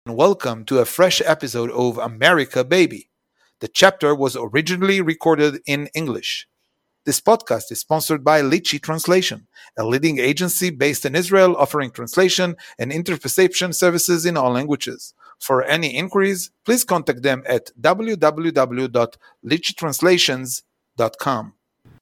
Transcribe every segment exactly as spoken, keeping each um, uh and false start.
and welcome to a fresh episode of America Baby. The chapter was originally recorded in English. This podcast is sponsored by Litchi Translation, a leading agency based in Israel offering translation and interpretation services in all languages. For any inquiries, please contact them at w w w dot litchi translations dot com.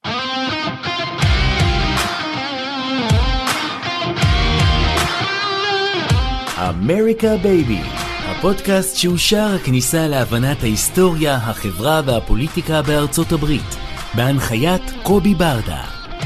אמריקה בייבי, הפודקאסט שהוא שער הכניסה להבנת ההיסטוריה, החברה והפוליטיקה בארצות הברית, בהנחיית קובי ברדה.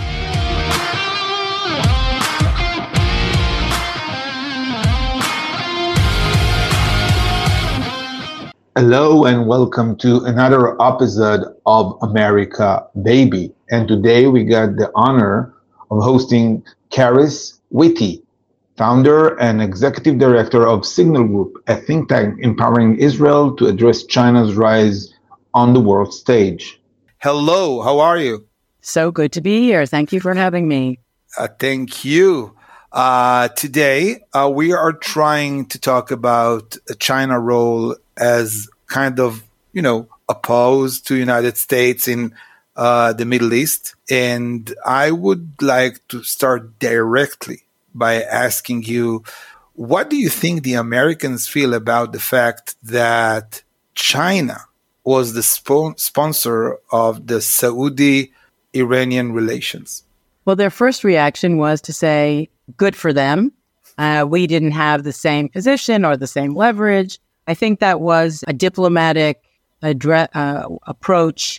Hello and welcome to another episode of America Baby. And today we got the honor of hosting Caris Whitty, founder and executive director of Signal Group, a think tank empowering Israel to address China's rise on the world stage. Hello, how are you? So good to be here. Thank you for having me. Uh, thank you. Uh, today, uh, we are trying to talk about China's role as kind of, you know, opposed to United States in uh, the Middle East. And I would like to start directly by asking you, what do you think the Americans feel about the fact that China was the spo- sponsor of the Saudi-Iranian relations? Well, their first reaction was to say, good for them. Uh, we didn't have the same position or the same leverage. I think that was a diplomatic adre- uh, approach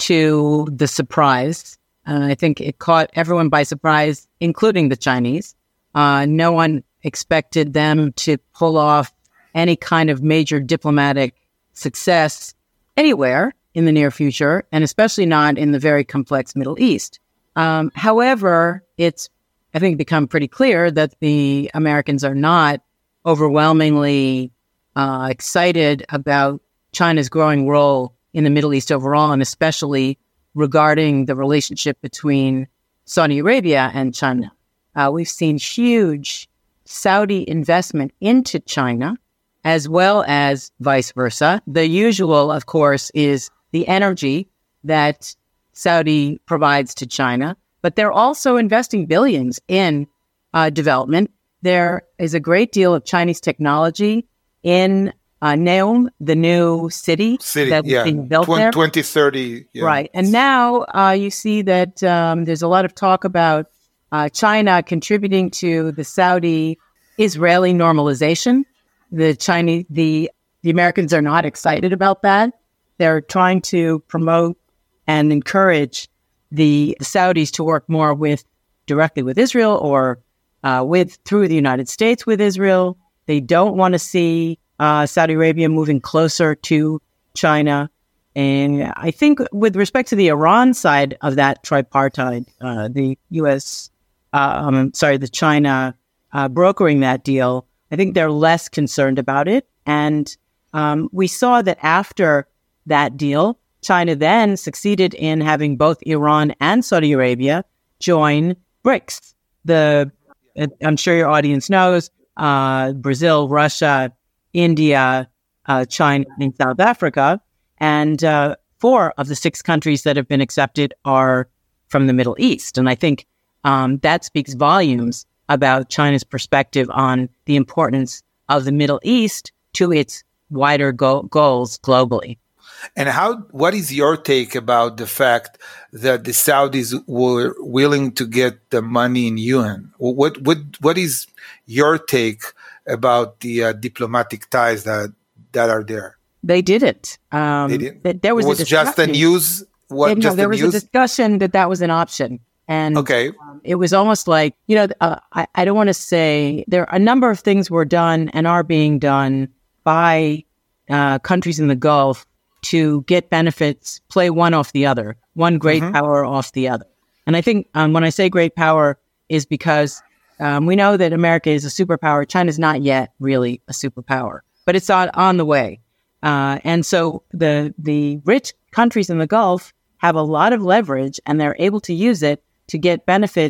to the surprise. Uh, I think it caught everyone by surprise, including the Chinese. Uh, no one expected them to pull off any kind of major diplomatic success anywhere in the near future, and especially not in the very complex Middle East. Um, however, it's, I think, become pretty clear that the Americans are not overwhelmingly uh, excited about China's growing role in the Middle East overall, and especially regarding the relationship between Saudi Arabia and China. Uh, we've seen huge Saudi investment into China, as well as vice versa. The usual, of course, is the energy that Saudi provides to China, but they're also investing billions in uh, development. There is a great deal of Chinese technology in uh, Neom, the new city, city that's yeah. being built Tw- there. twenty thirty. Yeah. Right. And now uh, you see that um, there's a lot of talk about Uh, China contributing to the Saudi-Israeli normalization. The Chinese, the the Americans are not excited about that. They're trying to promote and encourage the, the Saudis to work more with directly with Israel or uh, with through the United States with Israel. They don't want to see uh, Saudi Arabia moving closer to China. And I think with respect to the Iran side of that tripartite, uh, the U S Uh, um, sorry, the China uh, brokering that deal, I think they're less concerned about it. And um, we saw that after that deal, China then succeeded in having both Iran and Saudi Arabia join BRICS. The, uh, I'm sure your audience knows, uh, Brazil, Russia, India, uh, China, and South Africa. And uh, four of the six countries that have been accepted are from the Middle East. And I think Um, that speaks volumes about China's perspective on the importance of the Middle East to its wider go- goals globally. And how? What is your take about the fact that the Saudis were willing to get the money in yuan? What what what is your take about the uh, diplomatic ties that that are there? They did it. Um, they did. Th- there was, was a just a news. What? no, just there a was news? a discussion that that was an option. And okay. um, it was almost like, you know, uh, I, I don't want to say there are a number of things were done and are being done by uh, countries in the Gulf to get benefits, play one off the other, one great mm-hmm. power off the other. And I think um, when I say great power is because um, we know that America is a superpower. China's not yet really a superpower, but it's on, on the way. Uh, and so the the rich countries in the Gulf have a lot of leverage and they're able to use it to get benefits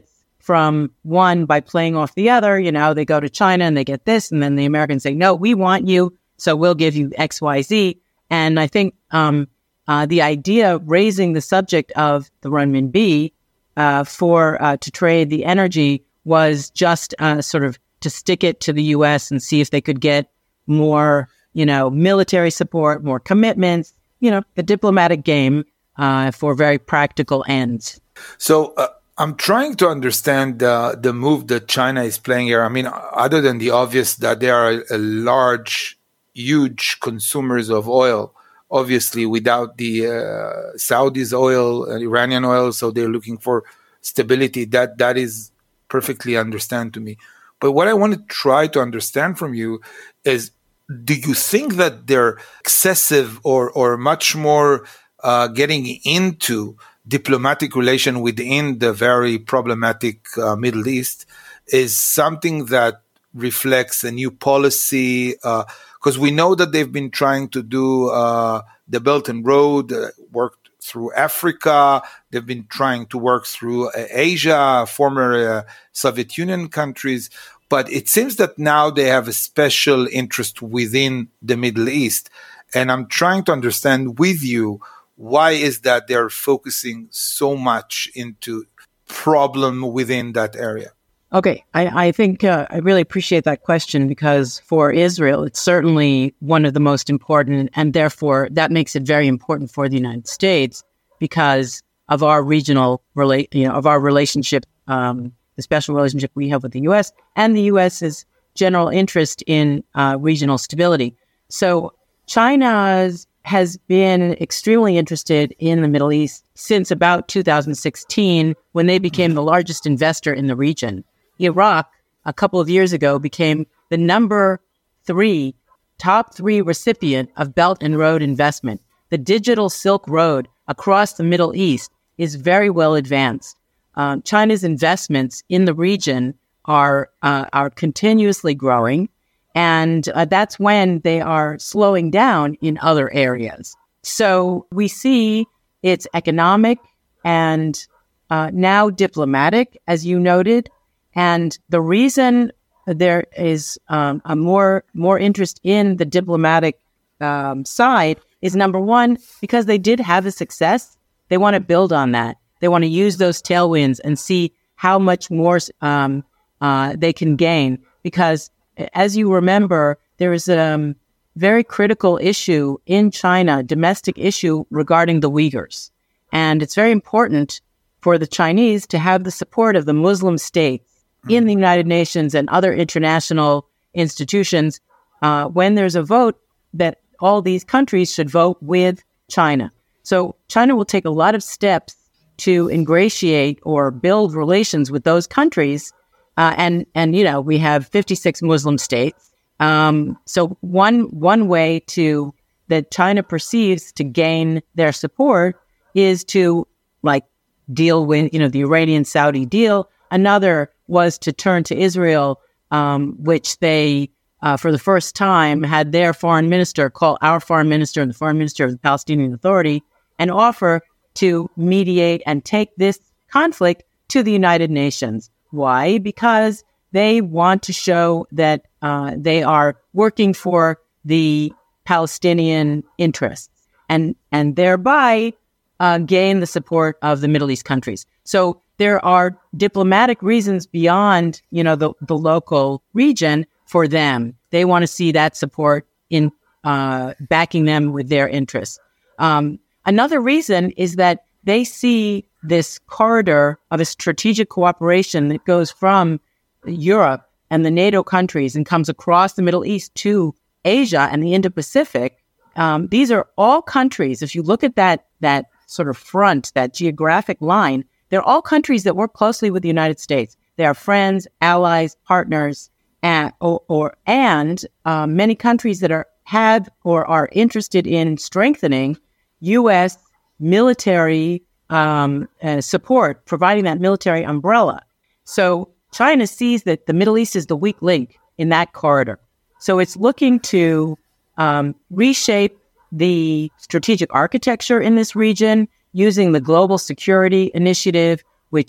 from one by playing off the other. You know, they go to China and they get this, and then the Americans say, no, we want you, so we'll give you X, Y, Z. And I think um, uh, the idea of raising the subject of the renminbi uh, for uh, to trade the energy was just uh, sort of to stick it to the U S and see if they could get more, you know, military support, more commitments, you know, the diplomatic game uh, for very practical ends. So uh, I'm trying to understand uh, the move that China is playing here. I mean, other than the obvious that they are a, a large, huge consumers of oil, obviously without the uh, Saudis' oil, uh, Iranian oil, so they're looking for stability. That that is perfectly understand to me. But what I want to try to understand from you is, do you think that they're excessive or, or much more uh, getting into diplomatic relation within the very problematic uh, Middle East is something that reflects a new policy? Because uh, we know that they've been trying to do uh, the Belt and Road, uh, worked through Africa. They've been trying to work through uh, Asia, former uh, Soviet Union countries. But it seems that now they have a special interest within the Middle East. And I'm trying to understand with you, why is that they're focusing so much into problem within that area? Okay, I, I think uh, I really appreciate that question, because for Israel, it's certainly one of the most important, and therefore that makes it very important for the United States because of our regional relate, you know, of our relationship, um, the special relationship we have with the U S and the US's general interest in uh, regional stability. So China's has been extremely interested in the Middle East since about two thousand sixteen, when they became the largest investor in the region. Iraq, a couple of years ago, became the number three, top three recipient of Belt and Road investment. The digital Silk Road across the Middle East is very well advanced. Um, China's investments in the region are uh, are continuously growing, and uh, that's when they are slowing down in other areas. So we see it's economic and uh, now diplomatic, as you noted. And the reason there is um, a more more interest in the diplomatic um, side is, number one, because they did have a success. They want to build on that. They want to use those tailwinds and see how much more um, uh, they can gain. Because, as you remember, there is a um, very critical issue in China, domestic issue regarding the Uyghurs. And it's very important for the Chinese to have the support of the Muslim states in the United Nations and other international institutions uh, when there's a vote that all these countries should vote with China. So China will take a lot of steps to ingratiate or build relations with those countries. Uh, and, and, you know, we have fifty-six Muslim states. Um, so one one way to that China perceives to gain their support is to, like, deal with, you know, the Iranian-Saudi deal. Another was to turn to Israel, um, which they, uh, for the first time, had their foreign minister call our foreign minister and the foreign minister of the Palestinian Authority and offer to mediate and take this conflict to the United Nations. Why? Because they want to show that uh, they are working for the Palestinian interests and, and thereby uh, gain the support of the Middle East countries. So there are diplomatic reasons beyond, you know, the, the local region for them. They want to see that support in uh, backing them with their interests. Um, another reason is that they see this corridor of a strategic cooperation that goes from Europe and the NATO countries and comes across the Middle East to Asia and the Indo-Pacific. Um, these are all countries. If you look at that that sort of front, that geographic line, they're all countries that work closely with the United States. They are friends, allies, partners, and, or, or, and uh, many countries that are have or are interested in strengthening U S military um, uh, support, providing that military umbrella. So China sees that the Middle East is the weak link in that corridor. So it's looking to um, reshape the strategic architecture in this region using the Global Security Initiative, which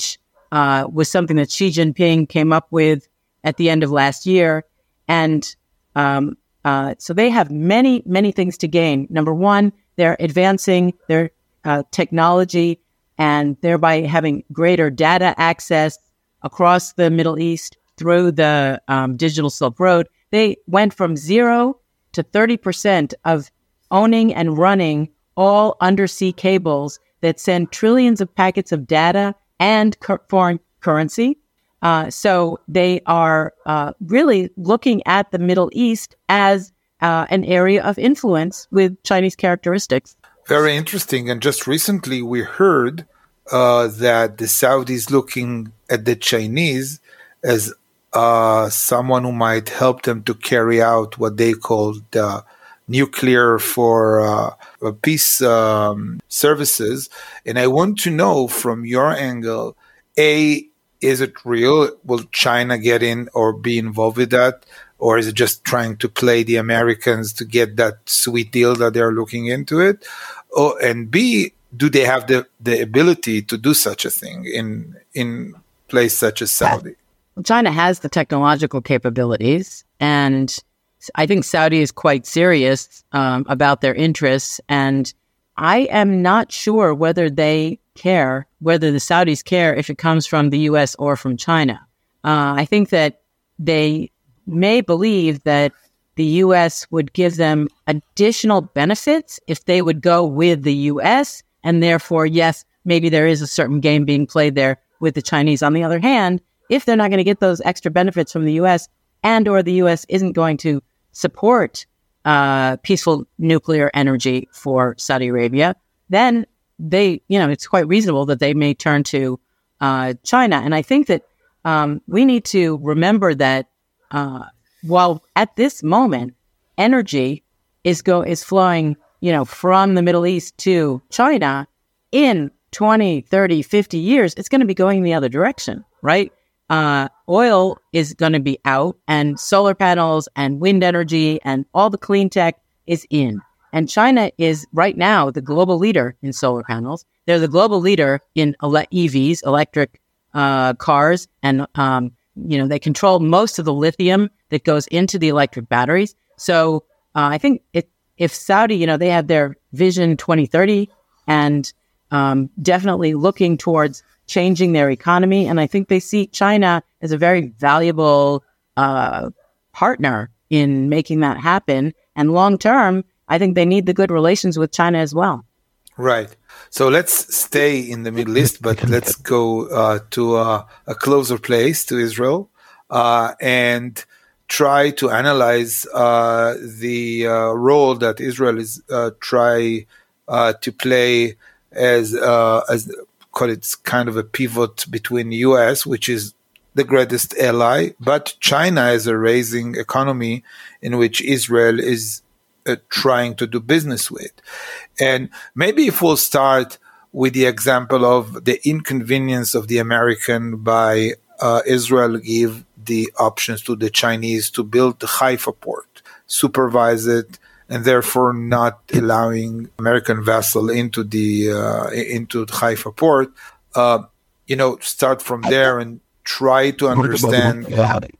uh, was something that Xi Jinping came up with at the end of last year. And um, uh, so they have many, many things to gain. Number one, they're advancing their uh, technology and thereby having greater data access across the Middle East through the um, digital Silk Road. They went from zero to thirty percent of owning and running all undersea cables that send trillions of packets of data and cur- foreign currency. Uh, so they are uh, really looking at the Middle East as uh, an area of influence with Chinese characteristics. Very interesting. And just recently we heard uh, that the Saudis looking at the Chinese as uh, someone who might help them to carry out what they call the nuclear for uh, peace um, services. And I want to know from your angle, A, is it real? Will China get in or be involved with that? Or is it just trying to play the Americans to get that sweet deal that they're looking into it? Oh, and B, do they have the, the ability to do such a thing in in place such as Saudi? China has the technological capabilities, and I think Saudi is quite serious um, about their interests. And I am not sure whether they care, whether the Saudis care if it comes from the U S or from China. Uh, I think that they may believe that the U S would give them additional benefits if they would go with the U S. And therefore, yes, maybe there is a certain game being played there with the Chinese. On the other hand, if they're not going to get those extra benefits from the U S and or the U S isn't going to support uh, peaceful nuclear energy for Saudi Arabia, then they, you know, it's quite reasonable that they may turn to uh, China. And I think that um, we need to remember that uh, while at this moment, energy is go is flowing, you know, from the Middle East to China, in twenty, thirty, fifty years, it's going to be going the other direction, right? Uh, oil is going to be out, and solar panels and wind energy and all the clean tech is in. And China is right now the global leader in solar panels. They're the global leader in ele- E Vs, electric uh, cars, and um, you know they control most of the lithium that goes into the electric batteries. So uh, I think it, if Saudi, you know, they have their Vision twenty thirty and um, definitely looking towards changing their economy. And I think they see China as a very valuable uh, partner in making that happen. And long term, I think they need the good relations with China as well. Right. So let's stay in the Middle East, but let's go uh, to uh, a closer place, to Israel, uh, and try to analyze uh, the uh, role that Israel is uh, try uh, to play as uh, as call it kind of a pivot between U S, which is the greatest ally, but China as a rising economy in which Israel is uh, trying to do business with. And maybe if we'll start with the example of the inconvenience of the American by uh, Israel give the options to the Chinese to build the Haifa port, supervise it, and therefore not allowing American vessel into the uh, into the Haifa port. Uh, you know, start from there and try to understand the,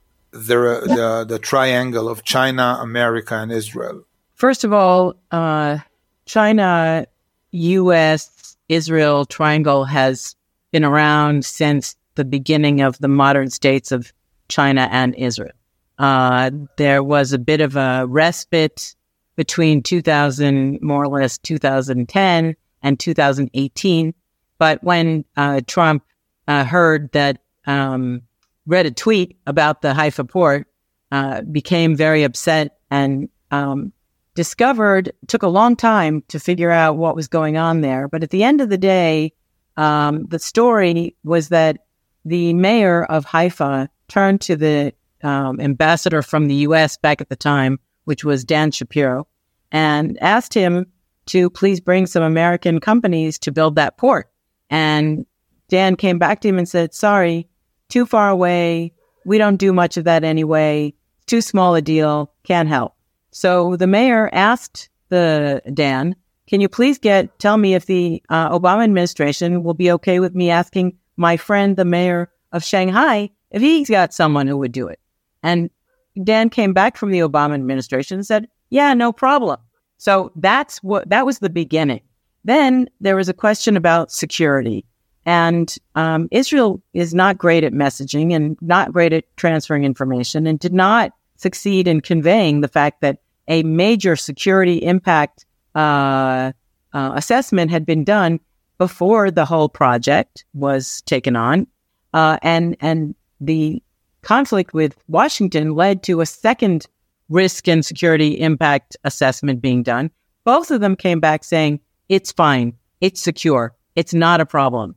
the the triangle of China, America, and Israel. First of all, uh, China, U S, Israel triangle has been around since the beginning of the modern states of China and Israel. Uh, there was a bit of a respite between two thousand, more or less two thousand ten and two thousand eighteen. But when uh, Trump uh, heard that, um, read a tweet about the Haifa port, uh, became very upset and um, discovered, took a long time to figure out what was going on there. But at the end of the day, um, the story was that the mayor of Haifa turned to the um, ambassador from the U S back at the time, which was Dan Shapiro, and asked him to please bring some American companies to build that port. And Dan came back to him and said, sorry, too far away. We don't do much of that anyway. Too small a deal. Can't help. So the mayor asked the Dan, can you please get, tell me if the uh, Obama administration will be okay with me asking my friend, the mayor of Shanghai, if he's got someone who would do it. And Dan came back from the Obama administration and said, yeah, no problem. So that's what, that was the beginning. Then there was a question about security. And um, Israel is not great at messaging and not great at transferring information, and did not succeed in conveying the fact that a major security impact uh, uh, assessment had been done before the whole project was taken on. Uh, and, and the conflict with Washington led to a second risk and security impact assessment being done. Both of them came back saying, it's fine, it's secure, it's not a problem.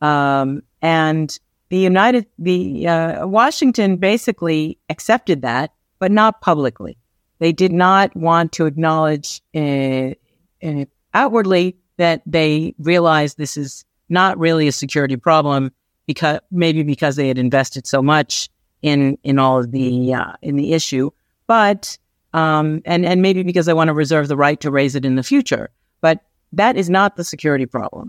Um, and the United, the uh, Washington basically accepted that, but not publicly. They did not want to acknowledge uh, uh, outwardly that they realized this is not really a security problem, because maybe because they had invested so much in in all of the uh, in the issue, but um, and and maybe because they want to reserve the right to raise it in the future. But that is not the security problem.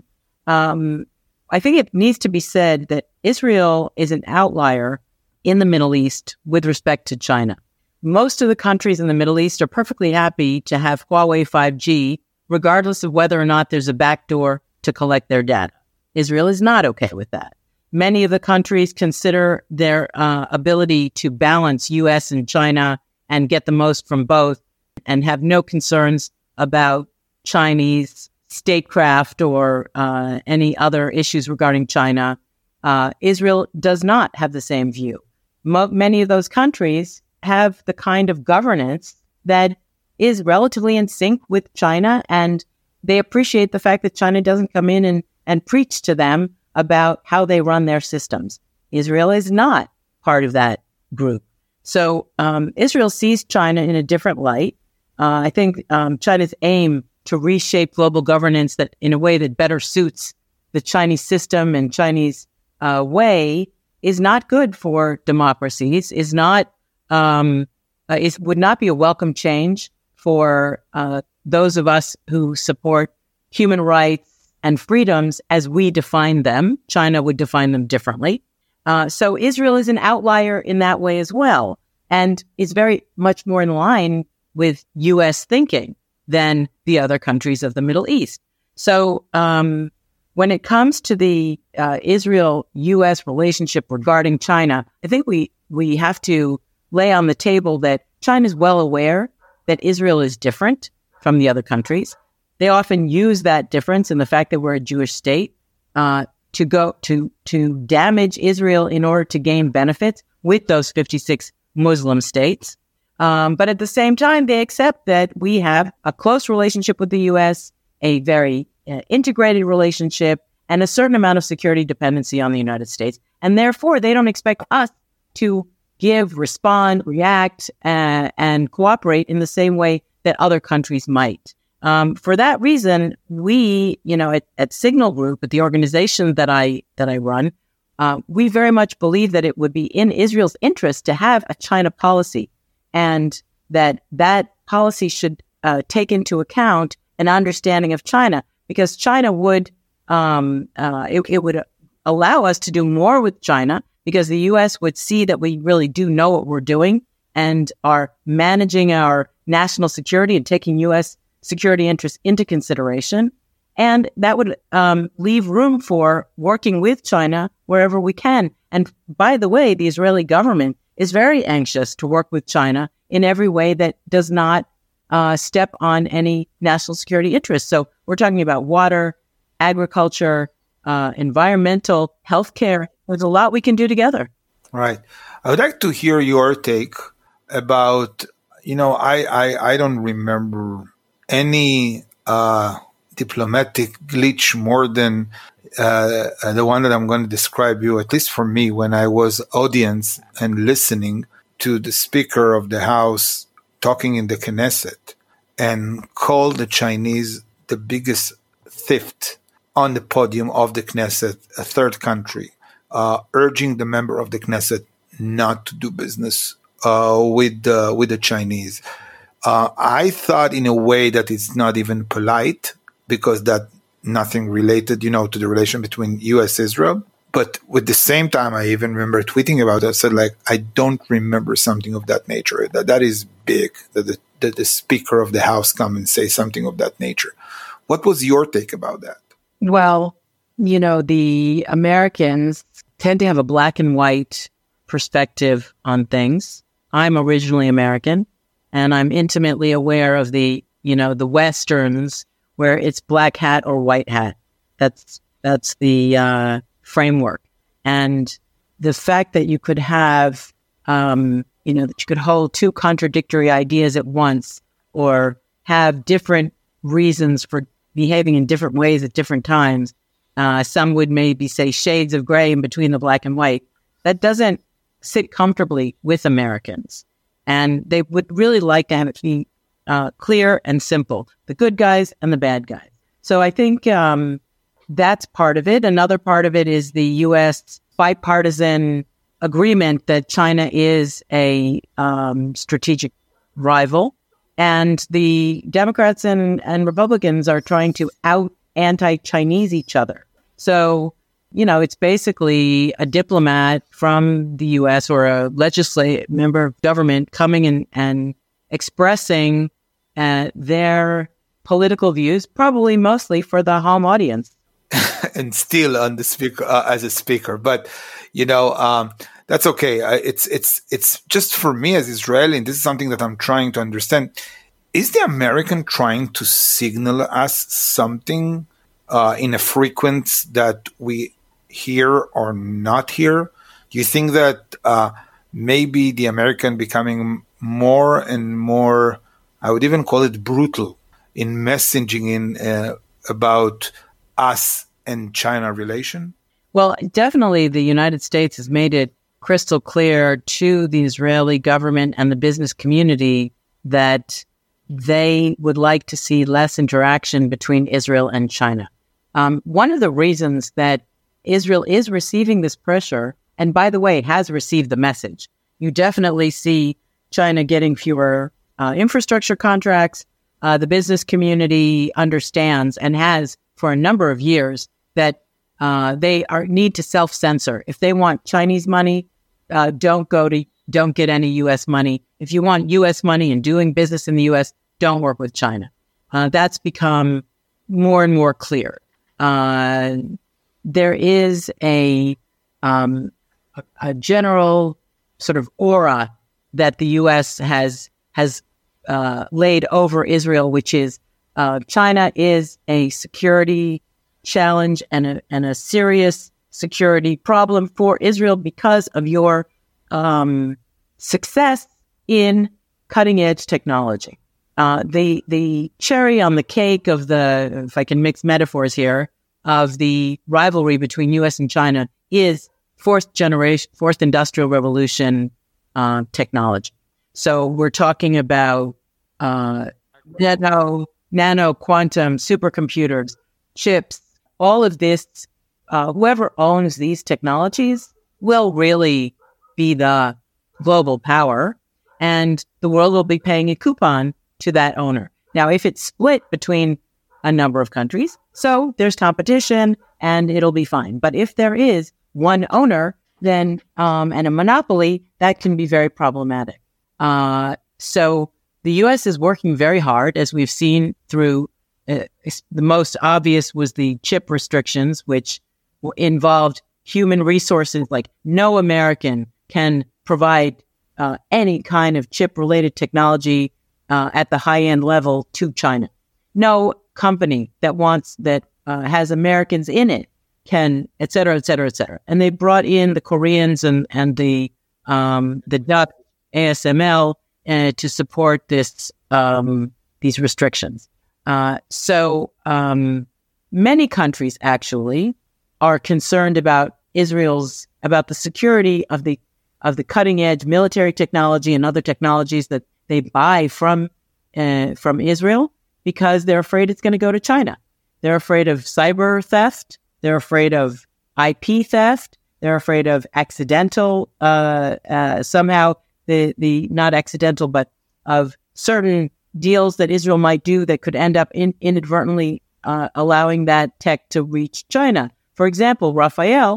Um, I think it needs to be said that Israel is an outlier in the Middle East with respect to China. Most of the countries in the Middle East are perfectly happy to have Huawei five G, regardless of whether or not there's a backdoor to collect their data. Israel is not okay with that. Many of the countries consider their uh, ability to balance U S and China and get the most from both, and have no concerns about Chinese statecraft or uh, any other issues regarding China. Uh, Israel does not have the same view. Mo- many of those countries have the kind of governance that is relatively in sync with China, and they appreciate the fact that China doesn't come in and, and preach to them about how they run their systems. Israel is not part of that group. So um, Israel sees China in a different light. Uh, I think um, China's aim to reshape global governance that in a way that better suits the Chinese system and Chinese uh, way is not good for democracies, is not, um, uh, is, would not be a welcome change for uh, those of us who support human rights and freedoms as we define them. China would define them differently. Uh, so Israel is an outlier in that way as well, and is very much more in line with U S thinking than the other countries of the Middle East. So um, when it comes to the uh, Israel-U S relationship regarding China, I think we, we have to lay on the table that China is well aware that Israel is different from the other countries. They often use that difference in the fact that we're a Jewish state uh, to go to to damage Israel in order to gain benefits with those fifty-six Muslim states. Um, but at the same time, they accept that we have a close relationship with the U S, a very uh, integrated relationship, and a certain amount of security dependency on the United States. And therefore, they don't expect us to give, respond, react, uh, and cooperate in the same way that other countries might. Um, for that reason, we, you know, at, at Signal Group, at the organization that I that I run, uh, we very much believe that it would be in Israel's interest to have a China policy, and that that policy should uh, take into account an understanding of China, because China would um, uh, it, it would allow us to do more with China, because the U S would see that we really do know what we're doing and are managing our national security and taking U S security interests into consideration. And that would um, leave room for working with China wherever we can. And by the way, the Israeli government is very anxious to work with China in every way that does not uh, step on any national security interests. So we're talking about water, agriculture, uh, environmental, healthcare. There's a lot we can do together. Right. I would like to hear your take about, you know, I, I, I don't remember any uh, diplomatic glitch more than uh, the one that I'm going to describe you, at least for me, when I was audience and listening to the Speaker of the House talking in the Knesset and called the Chinese the biggest theft on the podium of the Knesset, a third country, uh, urging the member of the Knesset not to do business uh, with, uh, with the Chinese. Uh, I thought in a way that it's not even polite, because that nothing related, you know, to the relation between U S Israel. But with the same time, I even remember tweeting about it. I said, like, I don't remember something of that nature. That that is big, that the, that the Speaker of the House come and say something of that nature. What was your take about that? Well, you know, the Americans tend to have a black and white perspective on things. I'm originally American, and I'm intimately aware of the, you know, the Westerns where it's black hat or white hat. That's that's the uh, framework. And the fact that you could have, um, you know, that you could hold two contradictory ideas at once or have different reasons for behaving in different ways at different times. Uh, some would maybe say shades of gray in between the black and white. That doesn't sit comfortably with Americans. And they would really like to have it be uh, clear and simple, the good guys and the bad guys. So I think um, that's part of it. Another part of it is the U S bipartisan agreement that China is a um, strategic rival. And the Democrats and, and Republicans are trying to out anti-Chinese each other. So, you know, it's basically a diplomat from the U S or a legislative member of government coming in and expressing uh, their political views, probably mostly for the home audience. And still on the speaker uh, as a speaker, but you know um, that's okay. Uh, it's it's it's just for me as Israeli, and this is something that I'm trying to understand. Is the American trying to signal us something uh, in a frequency that we hear or not hear? Do you think that uh, maybe the American becoming more and more, I would even call it brutal in messaging in uh, about us and China relation? Well, definitely the United States has made it crystal clear to the Israeli government and the business community that they would like to see less interaction between Israel and China. Um, one of the reasons that Israel is receiving this pressure, and by the way, has received the message, you definitely see China getting fewer uh, infrastructure contracts. Uh, the business community understands and has for a number of years that uh, they are need to self-censor. If they want Chinese money, uh, don't go to, don't get any U S money. If you want U S money and doing business in the U S, don't work with China. Uh, that's become more and more clear. Uh, there is a, um, a, a general sort of aura that the U S has has uh, laid over Israel, which is uh, China is a security challenge and a, and a serious security problem for Israel because of your um, success in cutting-edge technology. Uh, the the cherry on the cake of the, if I can mix metaphors here, of the rivalry between U S and China is fourth generation, fourth industrial revolution uh, technology. So we're talking about uh, nano, nano quantum supercomputers, chips, all of this. Uh, whoever owns these technologies will really be the global power, and the world will be paying a coupon to that owner. Now, if it's split between a number of countries, so there's competition and it'll be fine. But if there is one owner, then um, and a monopoly, that can be very problematic. Uh, so the U S is working very hard, as we've seen through uh, the most obvious was the chip restrictions, which involved human resources. Like no American can provide uh, any kind of chip-related technology uh, at the high-end level to China. No company that wants that uh, has Americans in it can, et cetera, et cetera, et cetera. And they brought in the Koreans and and the um, the Dutch A S M L uh, to support this um, these restrictions. Uh, so um, many countries actually are concerned about Israel's about the security of the of the cutting edge military technology and other technologies that they buy from uh, from Israel, because they're afraid it's going to go to China. They're afraid of cyber theft. They're afraid of I P theft. They're afraid of accidental, uh, uh, somehow the the not accidental, but of certain deals that Israel might do that could end up in, inadvertently uh, allowing that tech to reach China. For example, Rafael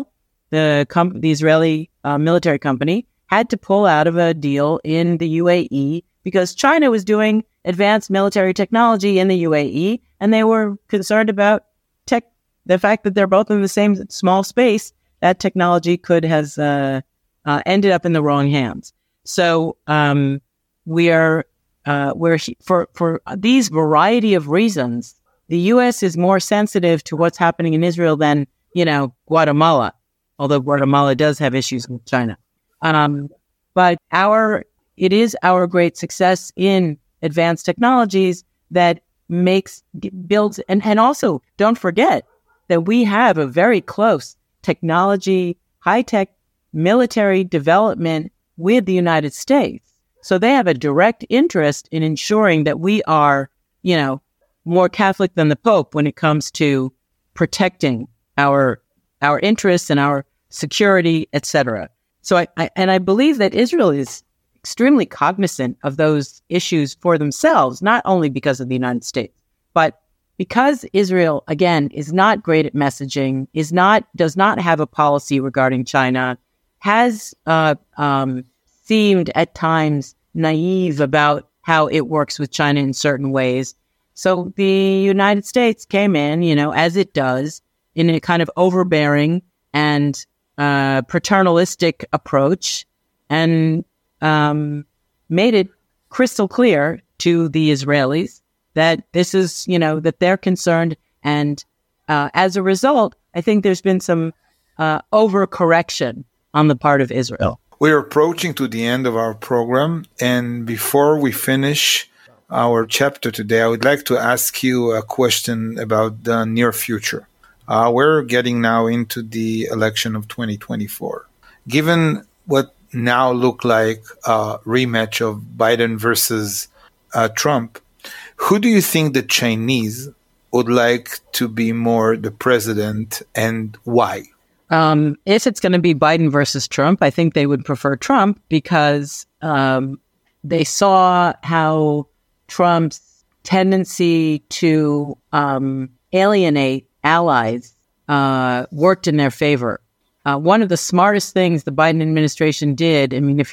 the, com- the Israeli uh, military company, had to pull out of a deal in the U A E because China was doing advanced military technology in the U A E, and they were concerned about tech, the fact that they're both in the same small space. That technology could has uh, uh, ended up in the wrong hands. So um, we are uh, we're for for these variety of reasons, the U S is more sensitive to what's happening in Israel than, you know, Guatemala, although Guatemala does have issues with China. Um, but our it is our great success in advanced technologies that makes builds and, and also don't forget that we have a very close technology, high-tech military development with the United States. So they have a direct interest in ensuring that we are, you know, more Catholic than the Pope when it comes to protecting our our interests and our security, et cetera. So I, I and I believe that Israel is extremely cognizant of those issues for themselves, not only because of the United States, but because Israel, again, is not great at messaging, is not does not have a policy regarding China, has uh, um, seemed at times naive about how it works with China in certain ways. So the United States came in, you know, as it does, in a kind of overbearing and uh, paternalistic approach, and um, made it crystal clear to the Israelis that this is, you know, that they're concerned. And uh, as a result, I think there's been some uh, overcorrection on the part of Israel. We're approaching to the end of our program. And before we finish our chapter today, I would like to ask you a question about the near future. Uh, we're getting now into the election of twenty twenty-four. Given what now look like a rematch of Biden versus uh, Trump, who do you think the Chinese would like to be more the president, and why? Um, if it's going to be Biden versus Trump, I think they would prefer Trump because um, they saw how Trump's tendency to um, alienate allies uh, worked in their favor. Uh, one of the smartest things the Biden administration did, I mean, if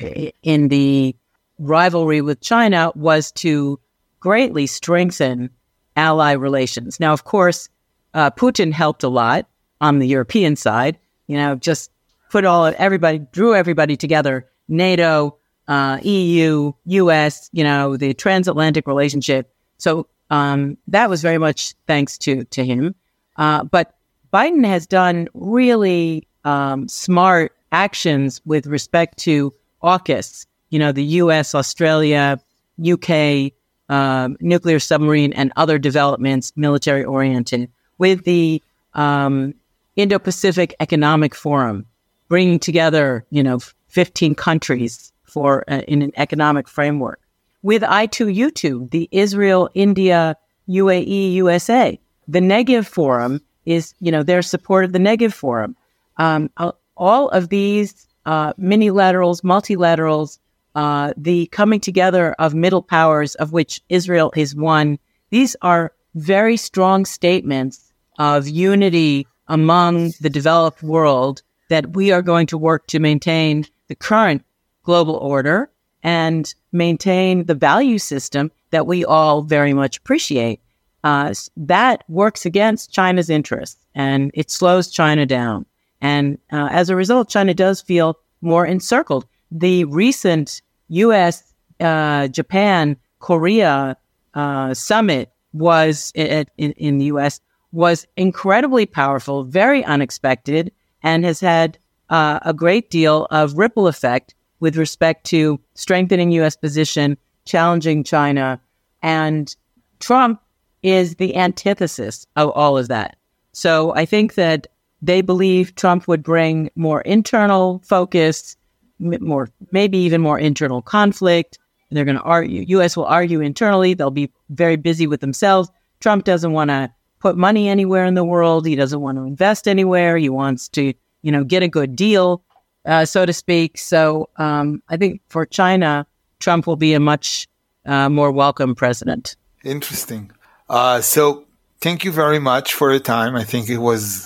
in the rivalry with China, was to greatly strengthen ally relations. Now, of course, uh, Putin helped a lot on the European side. You know, just put all of everybody, drew everybody together: NATO, uh, E U, U S. You know, the transatlantic relationship. So um, that was very much thanks to to him. Uh, but Biden has done really um, smart actions with respect to AUKUS, you know, the U S, Australia, U K, um, nuclear submarine and other developments, military oriented, with the um, Indo-Pacific Economic Forum, bringing together, you know, fifteen countries for uh, in an economic framework. With I two U two, the Israel, India, U A E, U S A, the Negev Forum is, you know, their support of the Negev Forum. Um, all of these uh, minilaterals, multilaterals, uh, the coming together of middle powers, of which Israel is one, these are very strong statements of unity among the developed world that we are going to work to maintain the current global order and maintain the value system that we all very much appreciate. Uh, that works against China's interests, and it slows China down. And uh, as a result, China does feel more encircled. The recent U S, uh, Japan, Korea uh, summit was in, in the U S was incredibly powerful, very unexpected, and has had uh, a great deal of ripple effect with respect to strengthening U S position, challenging China. And Trump is the antithesis of all of that. So I think that they believe Trump would bring more internal focus, more, maybe even more internal conflict. They're going to argue, U S will argue internally. They'll be very busy with themselves. Trump doesn't want to put money anywhere in the world. He doesn't want to invest anywhere. He wants to, you know, get a good deal, uh, so to speak. So um, I think for China, Trump will be a much uh, more welcome president. Interesting. Uh, so thank you very much for your time. I think it was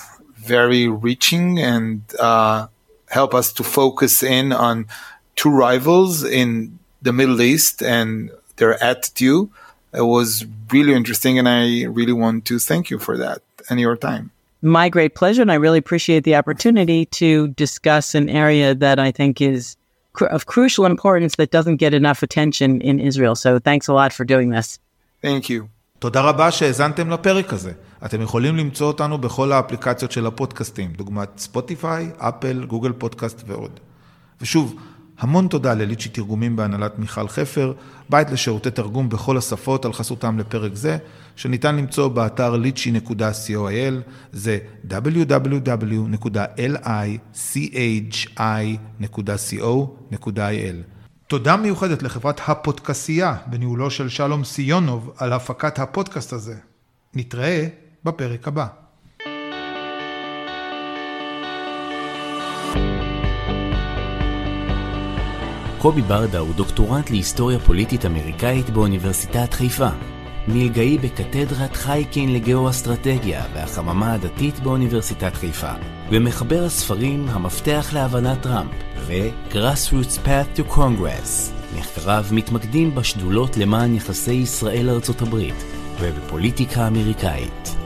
very reaching and uh, help us to focus in on two rivals in the Middle East and their attitude. It was really interesting, and I really want to thank you for that and your time. My great pleasure, and I really appreciate the opportunity to discuss an area that I think is cr- of crucial importance that doesn't get enough attention in Israel. So thanks a lot for doing this. Thank you. תודה רבה שהזנתם לפרק הזה. אתם יכולים למצוא אותנו בכל האפליקציות של הפודקאסטים, דוגמת ספוטיפיי, אפל, גוגל פודקאסט ועוד. ושוב, המון תודה לליצ'י תרגומים בהנהלת מיכל חפר, בית לשירותי תרגום בכל השפות על חסותם לפרק זה, שניתן למצוא באתר ליצ'י נקודה קו, זה דאבליו דאבליו דאבליו נקודה ליצ'י נקודה קו נקודה איי אל. תודה מיוחדת לחברת הפודקאסייה בניהולו של שלום סיונוב על הפקת הפודקאסט הזה. נתראה בפרק הבא. קובי ברדה הוא דוקטורנט להיסטוריה פוליטית אמריקאית באוניברסיטת חיפה. מלגאי בקתדרת חייקין לגאו-אסטרטגיה והחממה הדתית באוניברסיטת חיפה. ומחבר הספרים המפתח להבנת טראמפ ו-Grassroots Path to Congress. מחקריו מתמקדים בשדולות למען יחסי ישראל ארצות הברית ובפוליטיקה אמריקאית.